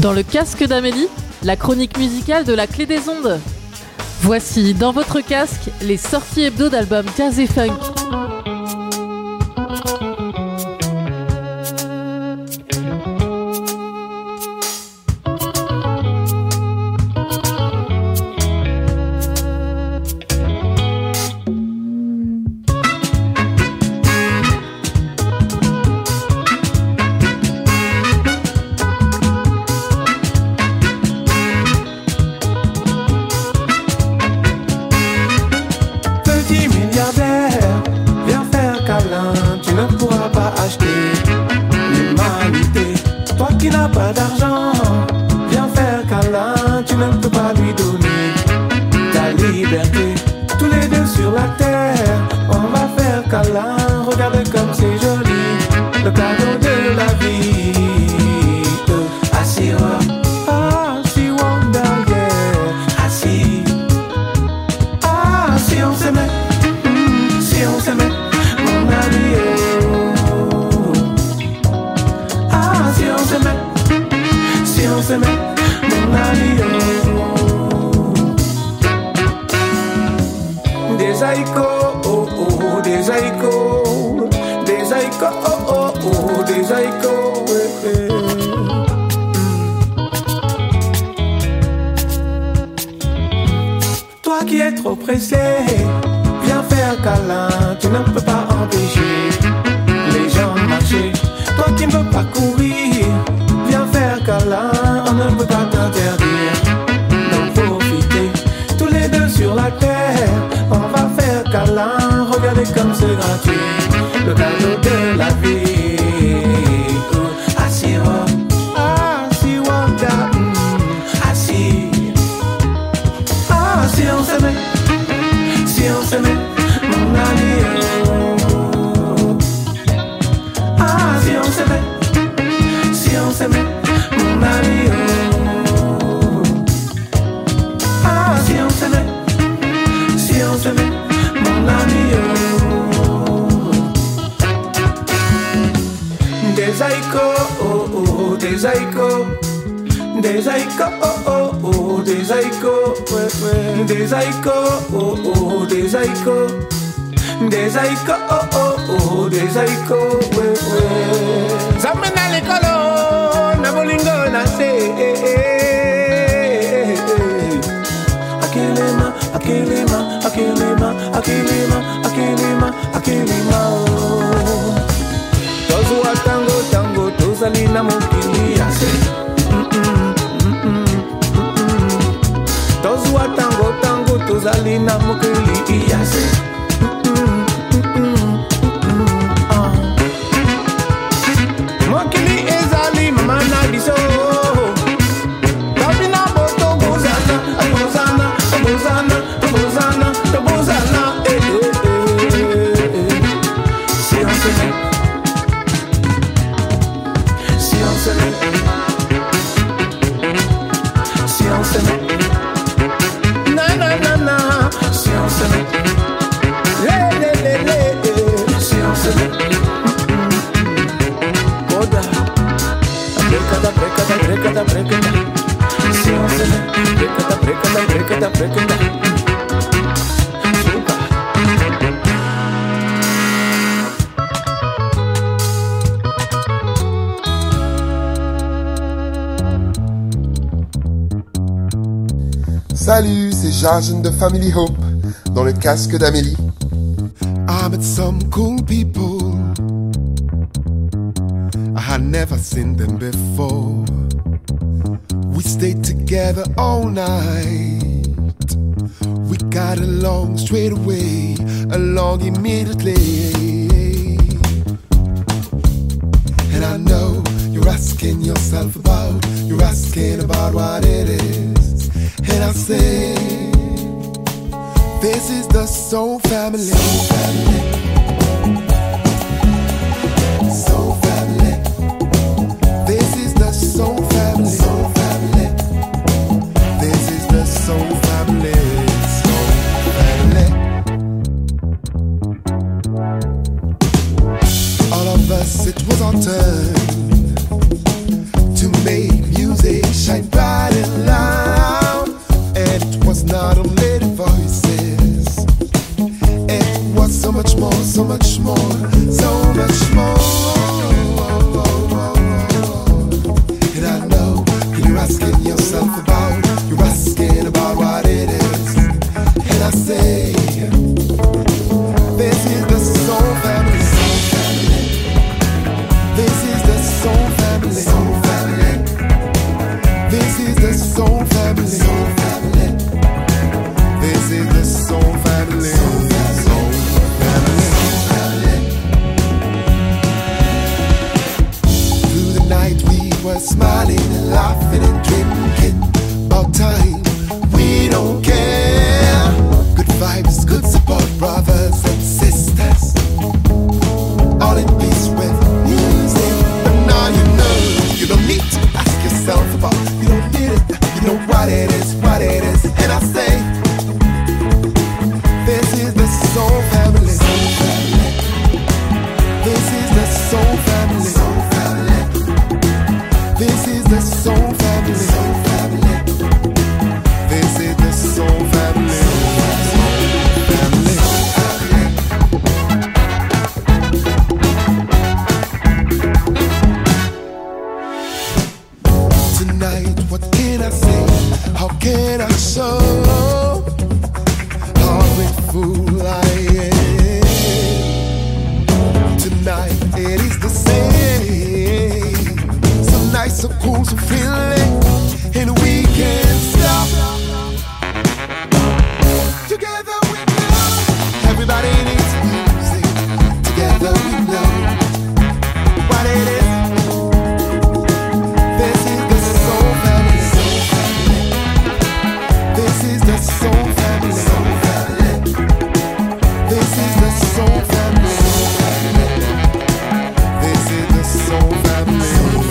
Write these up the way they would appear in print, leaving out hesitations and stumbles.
Dans le casque d'Amélie, la chronique musicale de la clé des ondes. Voici dans votre casque les sorties hebdo d'albums jazz et funk. Salut, c'est Jajen de Family Hope, dans le casque d'Amélie. I met some cool people, I had never seen them before. We stayed together all night, we got along straight away, along immediately. And I know you're asking yourself about, you're asking about what it is. And I say, this is the Soul Family. Soul Family. Soul Family. This is the Soul Family. Soul Family. This is the Soul Family. Soul Family. All of us, it was our turn to make music shine bright and loud. And it was not only the voices, it was so much more, so much more, so much more. And I know you're asking yourself about, you're asking about what it is. And I say, this is the soul family. This is the soul family. Soul family. This is the soul family. Soul family. This is the soul family. Soul family. Through the night we were smiling and laughing and drinking about time. We don't care. Good vibes, good support, brothers and sisters. All in peace with music. But now you know, you don't need to ask yourself about. You don't need it, you know what it is, what it is. And I say, this is the soul family. Soul family. This is the soul family. Soul family. This is the soul family. Soul family. This is the soul family. Tonight, what can I say? How can I show how grateful I am? Tonight, it is the same. So nice, so cool, so feeling, and we can't stop. Together we know. Everybody needs music. Together we know what it is. This is the soul family. This is the soul family. This is the soul family. This is the soul family.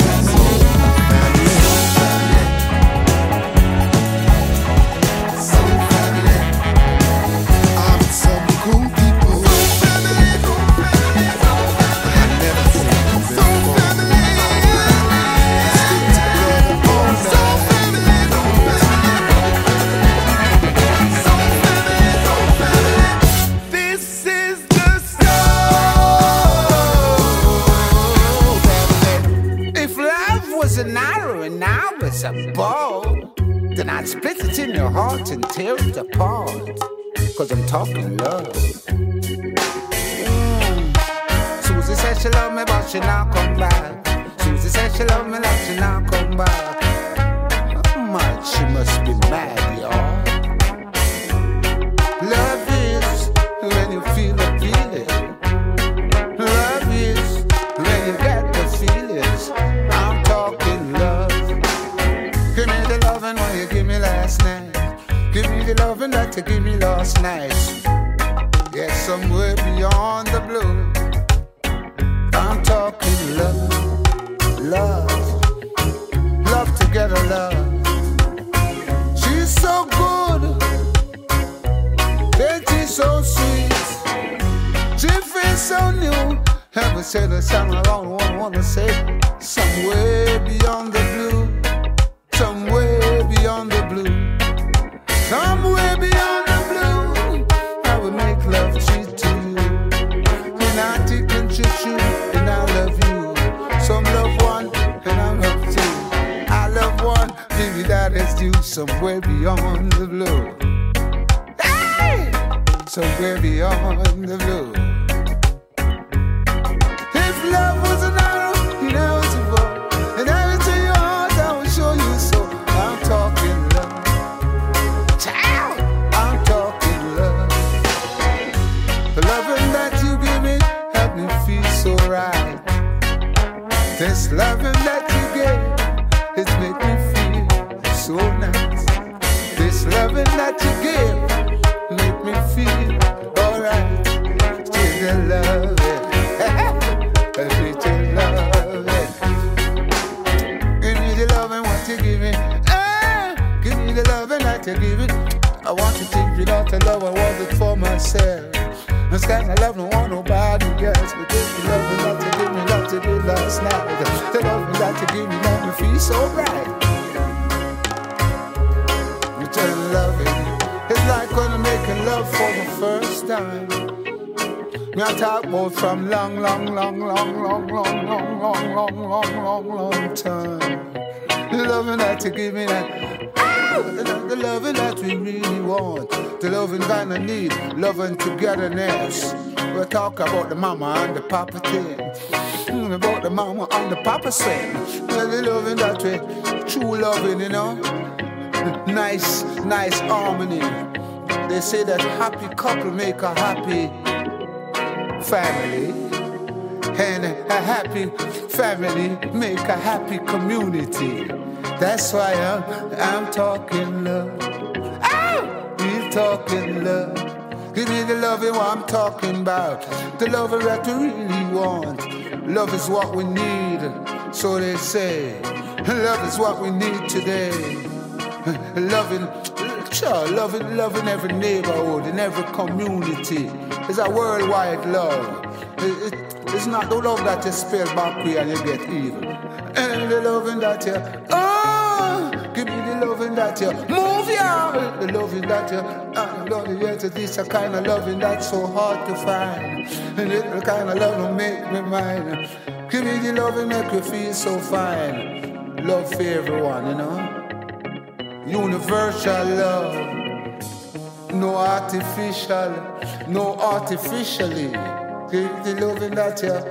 I'm some cool people. I never seen them before. Stick together all night. This is the soul family. If love was an arrow and I was a bow, then I'd split it in your heart and tear it apart. Cause I'm talking love. Susie said she love me but she not come back. Susie said she love me like she not come back. How much she must be mad, y'all. Love is when you feel the feeling. Love is when you get the feelings. I'm talking love. Give me the loving what you give me last night. Give me the loving that you give me last night. Yes, somewhere beyond the blue. I'm talking love. Love. Love together, love. She's so good. And she's so sweet. She feels so new. Ever said a song I don't wanna say. Somewhere beyond the blue. Somewhere beyond the blue. Somewhere beyond the blue. I will make love cheat to you. And I take and treat you. And I love you. Some love one. And I love two. I love one. Maybe that is due. Somewhere beyond the blue. Hey! Somewhere beyond the blue. If love was an arrow, you know it's a bow. And I into your heart, I will show you so. I'm talking love. Child, I'm talking love. The loving that you give me help me feel so right. This loving that you gave, it make me feel so nice. This loving that you give, make me feel alright. Still love it. Still love it. Give me the loving what you give me. Give me the loving that you give it. I want to take it out to love, I want it for myself. This kind of love don't want nobody else. But this the loving that you give me, love to do last night. The loving that you give me, make me feel so right. making love for the first time. Me I talk about from long time. The loving that you give me that, the loving that we really want, the loving kind of need, loving togetherness. We'll talk about the mama and the papa thing, about the mama and the papa thing. The loving that we true loving, you know, nice harmony. They say that happy couple make a happy family, and a happy family make a happy community. That's why I'm talking love. We're talking love. Give me the loving what I'm talking about. The love that we really want. Love is what we need, so they say. Love is what we need today. Loving every neighborhood, in every community. It's a worldwide love. It's not the love that you spell back way and you get evil. And the loving that you, give me the loving that you move ya. The loving that you, this a kind of loving that's so hard to find. And it's the kind of love that make me mine. Give me the loving make you feel so fine. Love for everyone, you know. Universal love. No artificial, no artificially. Give the loving that you,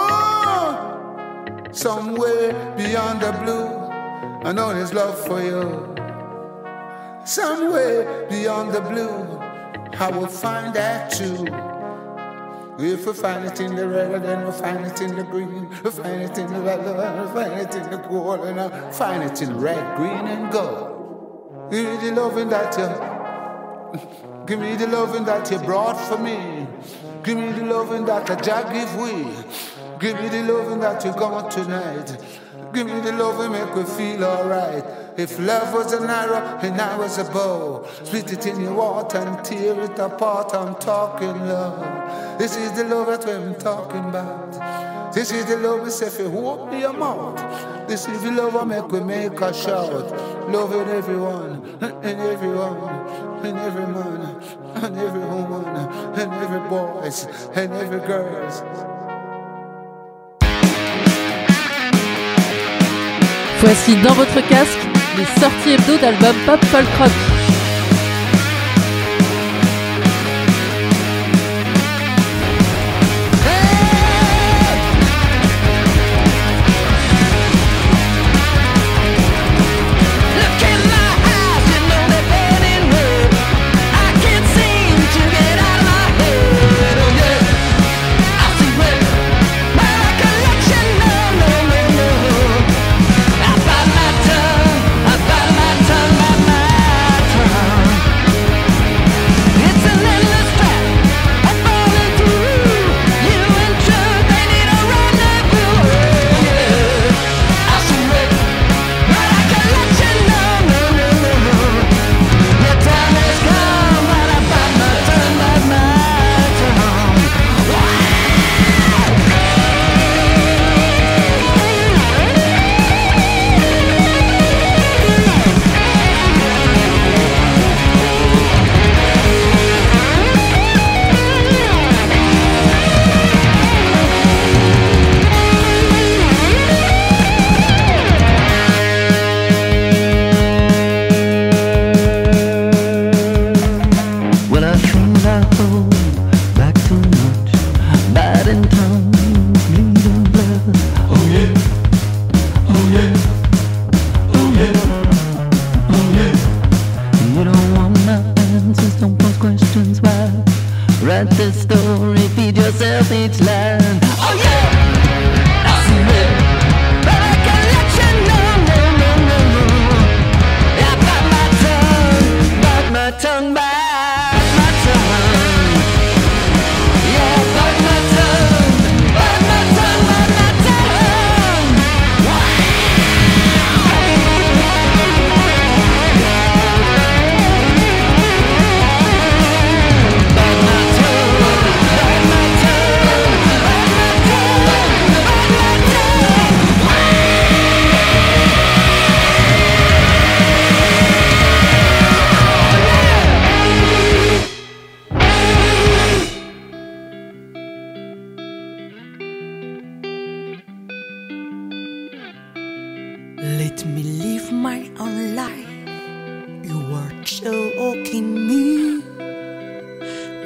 somewhere beyond the blue, I know there's love for you. Somewhere beyond the blue, I will find that too. If we find it in the red, then we'll find it in the green. We'll find it in the red, we'll find it in the gold, and I'll find it in red, green, and gold. Give me the loving that you, give me the loving that you brought for me. Give me the loving that I just give way. Give me the loving that you got tonight. Give me the loving make me feel alright. If love was an arrow and I was a bow, split it in your water and tear it apart. I'm talking love. This is the love that I'm talking about. This is the love we say if you open your mouth. This is the love I make a shout. Loving everyone and everyone and every man and every woman and every boys and every girls. Voici dans votre casque les sorties hebdo d'albums pop folk rock.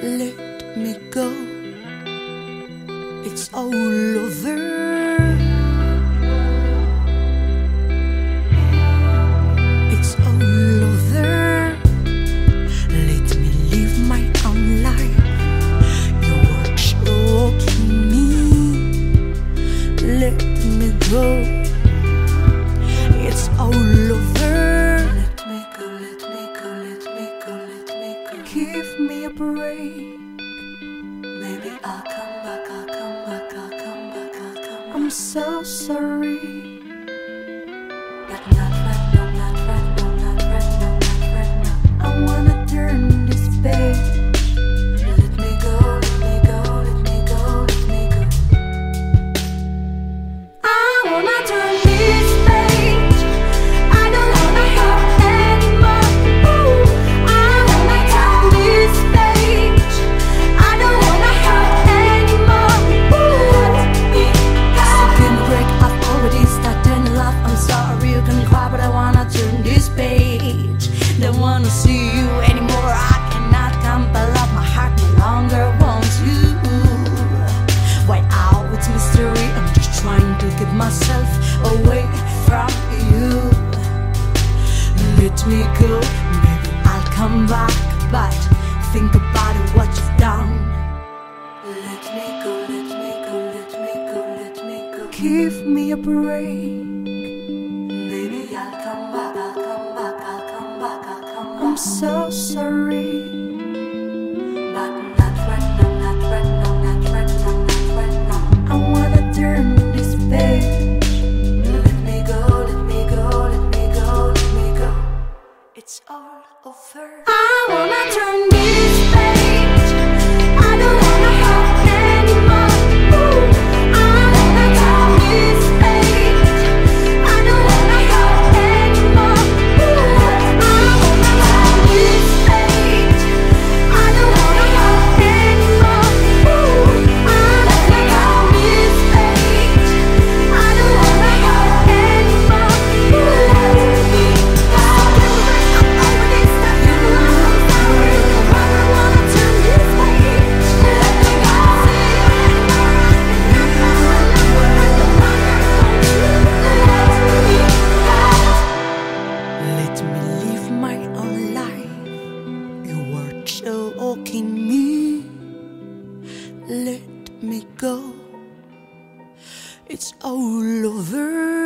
let me go. It's all over. It's all over. Let me live my own life. You were choking me. Let me go. It's all over. Let me go, let me go, let me go, let me go. Give me a break. Maybe I'll come back, I'll come back, I'll come back, I'll come back. I'm so sorry. But not right now, not right now, not right now, not right now. I wanna turn this page. Let me go, let me go, let me go, let me go. I wanna turn this page. I don't wanna hurt anymore. Ooh, I wanna turn this page. I don't wanna hurt anymore. Ooh, give me a break. I've already started love. I'm sorry you can cry, but I wanna turn this page. Don't wanna see you anymore. I cannot compel up. My heart no longer wants you. Why out with mystery? I'm just trying to get myself away from you. Let me go, maybe I'll come back. But think about it, what you've done. Let me go, let me go, let me go, let me go. Give me a break. Maybe I'll come back, I'll come back, I'll come back, I'll come back. I'm so sorry. But not right now, not right now, not right now, not right now. I wanna turn this page. Let me go, let me go, let me go, let me go. It's all over. I wanna turn this page. I don't wanna hurt anymore. Ooh, I wanna turn this page. I don't wanna hurt anymore. Ooh, I wanna turn this page. I don't wanna hurt anymore. Ooh, I wanna turn this page. I don't wanna hurt anymore. Let me live my own life. You were choking me. Let me go. It's all over.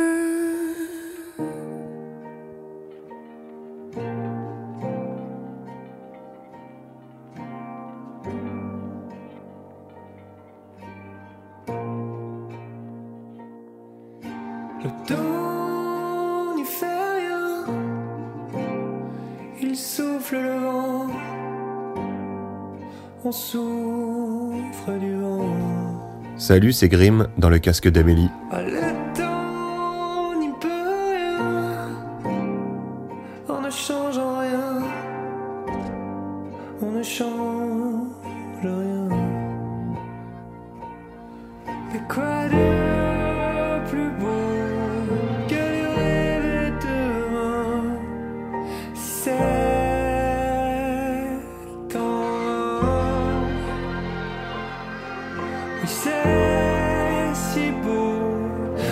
Le temps n'y fait rien, il souffle le vent, on souffre du vent. Salut, c'est Grim dans le casque d'Amélie. Ah, le temps n'y peut rien, en ne changeant rien, on ne change rien. Mais quoi de plus beau que les rêves de demain? C'est quand, oui, c'est si beau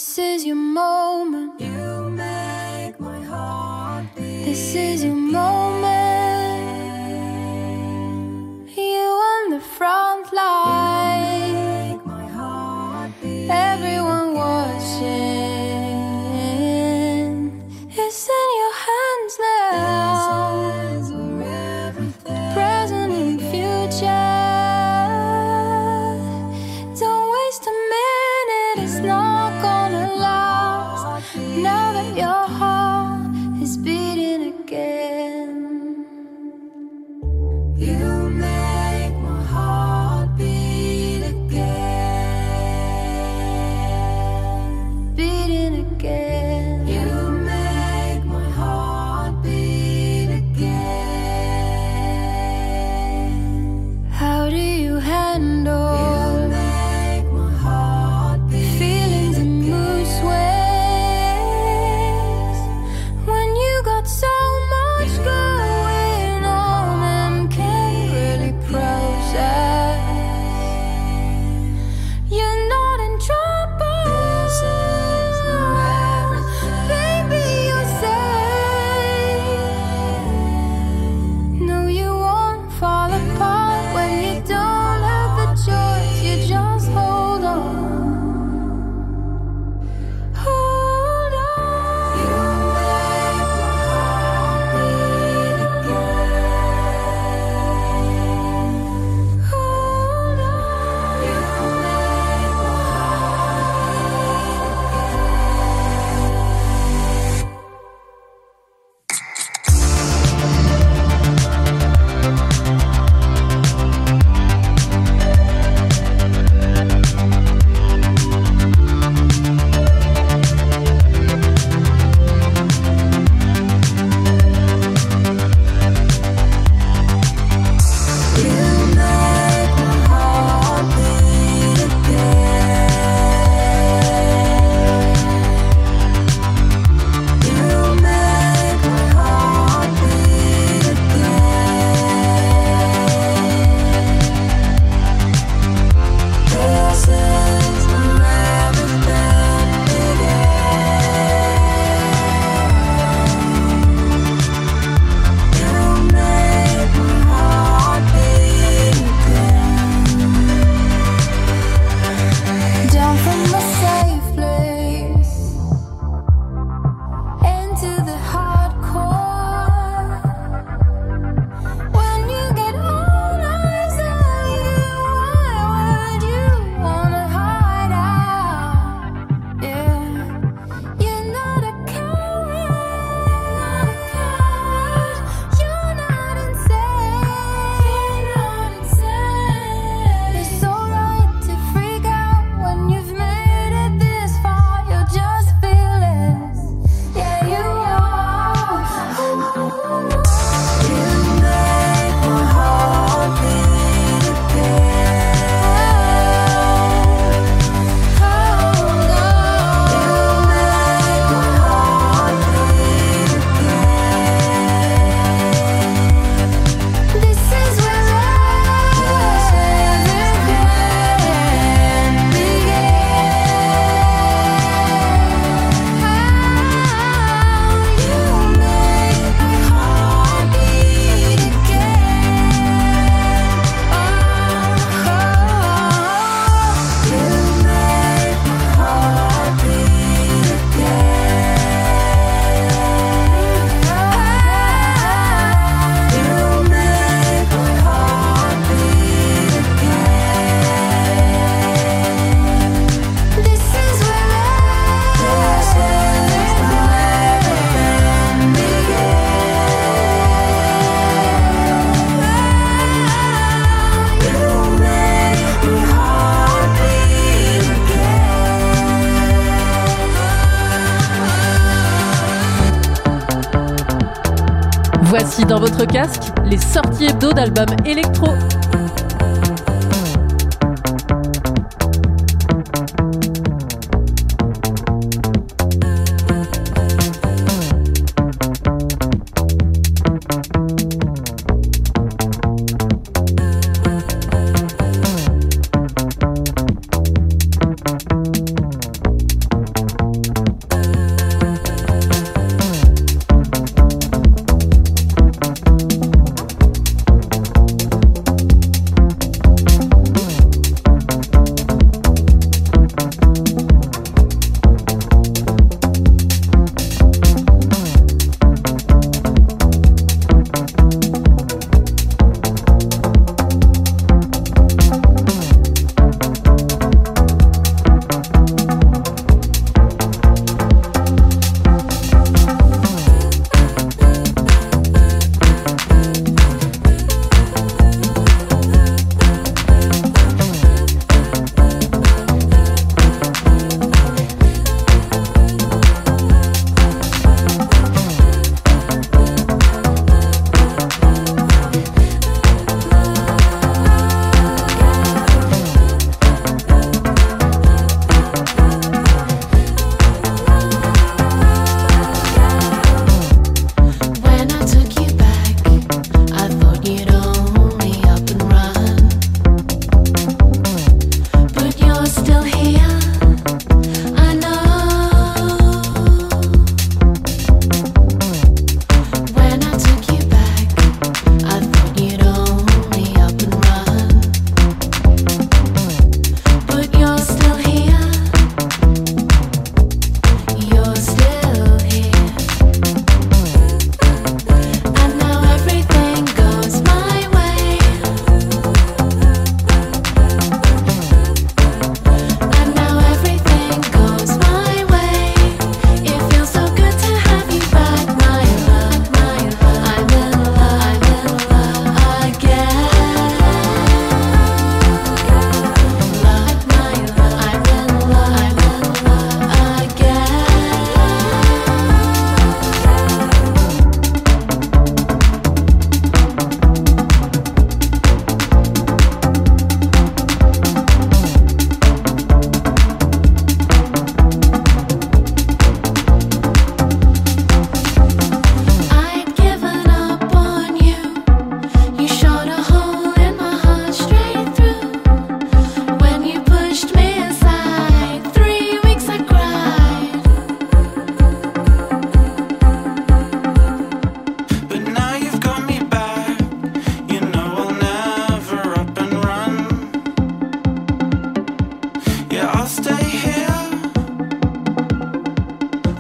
This is your moment. You make my heart beat. This is your moment. You on the front line. You make my heart beat. Everyone watching. It's in your hands now. Present and future. Don't waste a minute. It's not gonna last. Now that your heart is beating again. You make my heart beat again. Beating again. You make my heart beat again. How do you handle feelings and mood swings when you got so much going on and can't really process? You're not in trouble, baby, you're safe. No, you won't fall apart when you don't have the choice. You just hold on. Hold on. You make my heart beat again. Hold on. You make my down from the safe place into the hardcore. When you get all eyes on you, why would you wanna hide out? Yeah, you're not a coward, you're not insane. It's alright to freak out when you've made it this far. You're just fearless, yeah, you are. You make my heart beat again. Hold on. You make my heart beat again. This is where everything began. You make my heart beat again. You make my heart beat again. You make my heart beat again. This is where everything began. You make my heart beat again. Voici dans votre casque les sorties hebdo d'albums électro.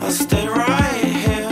I'll stay right here.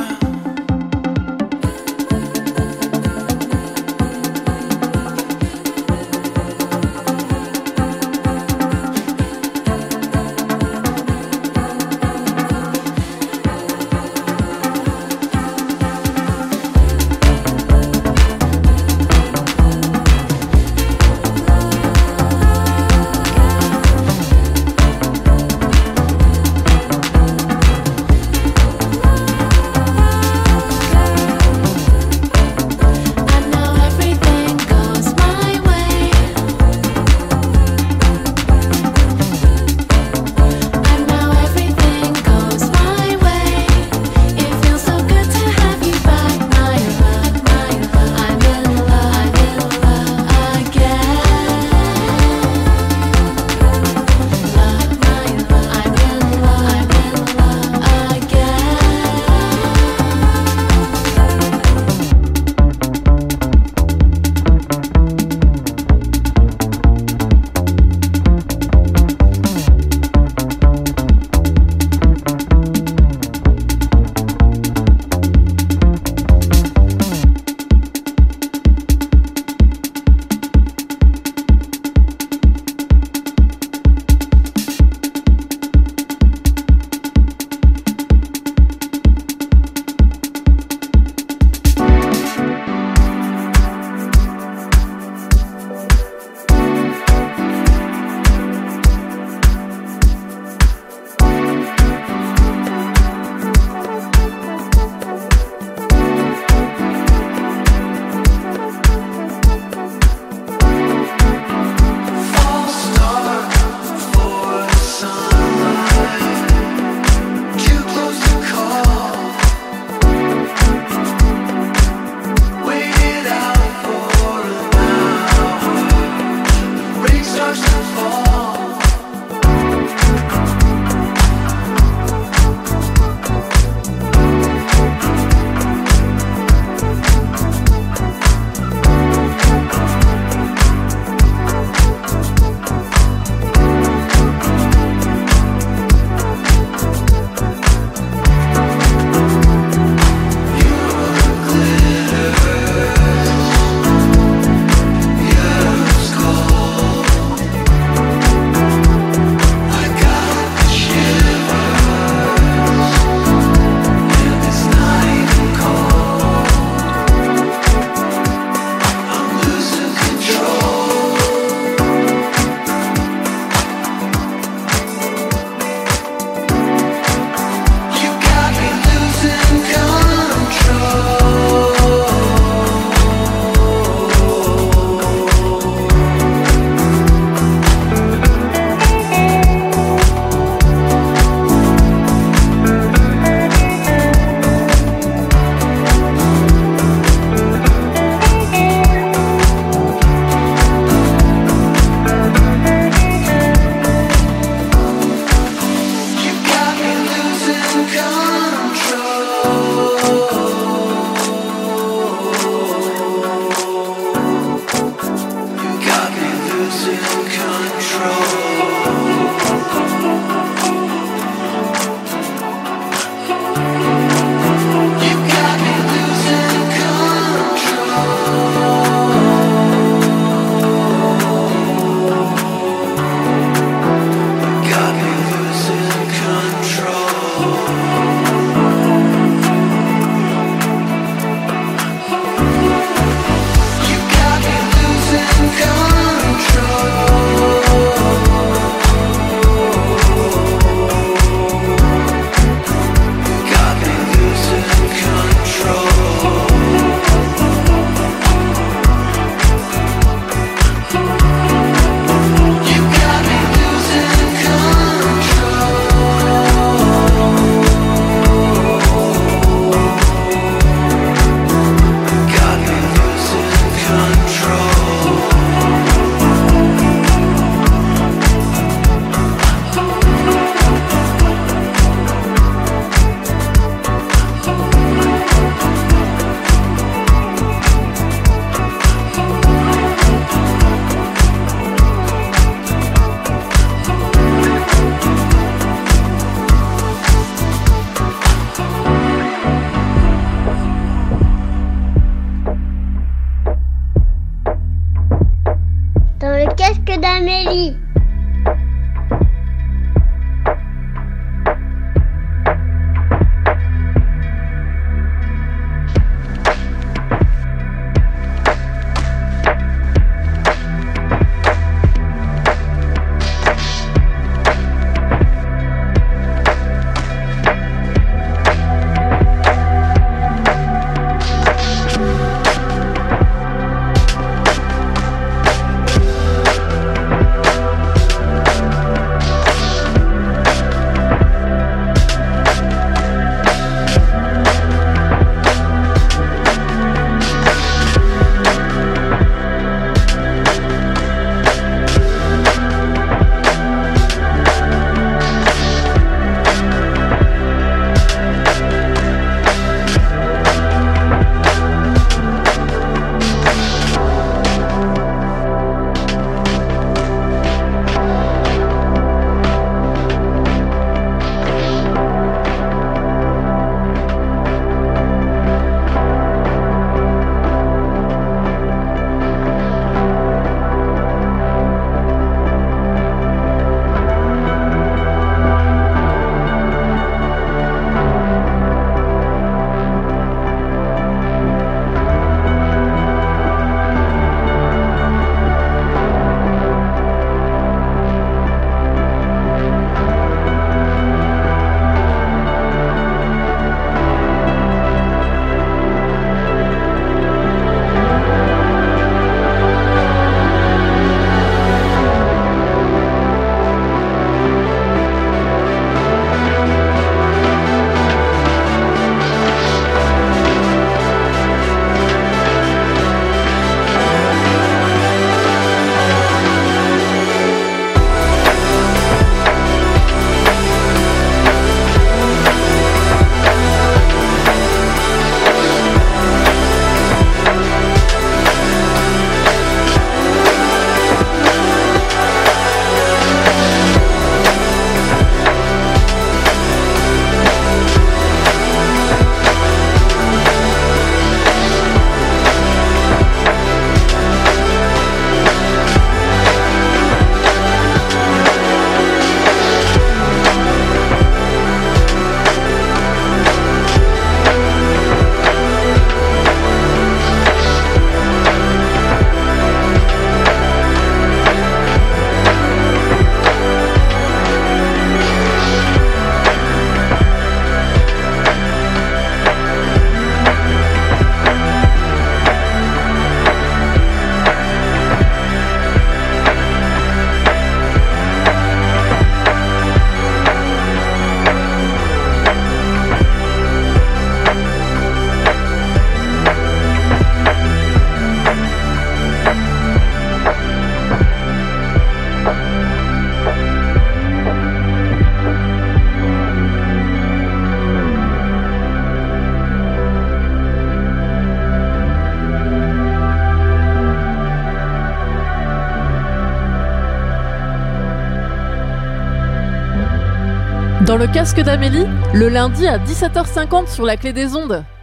Dans le casque d'Amélie, le lundi à 17h50 sur la clé des ondes.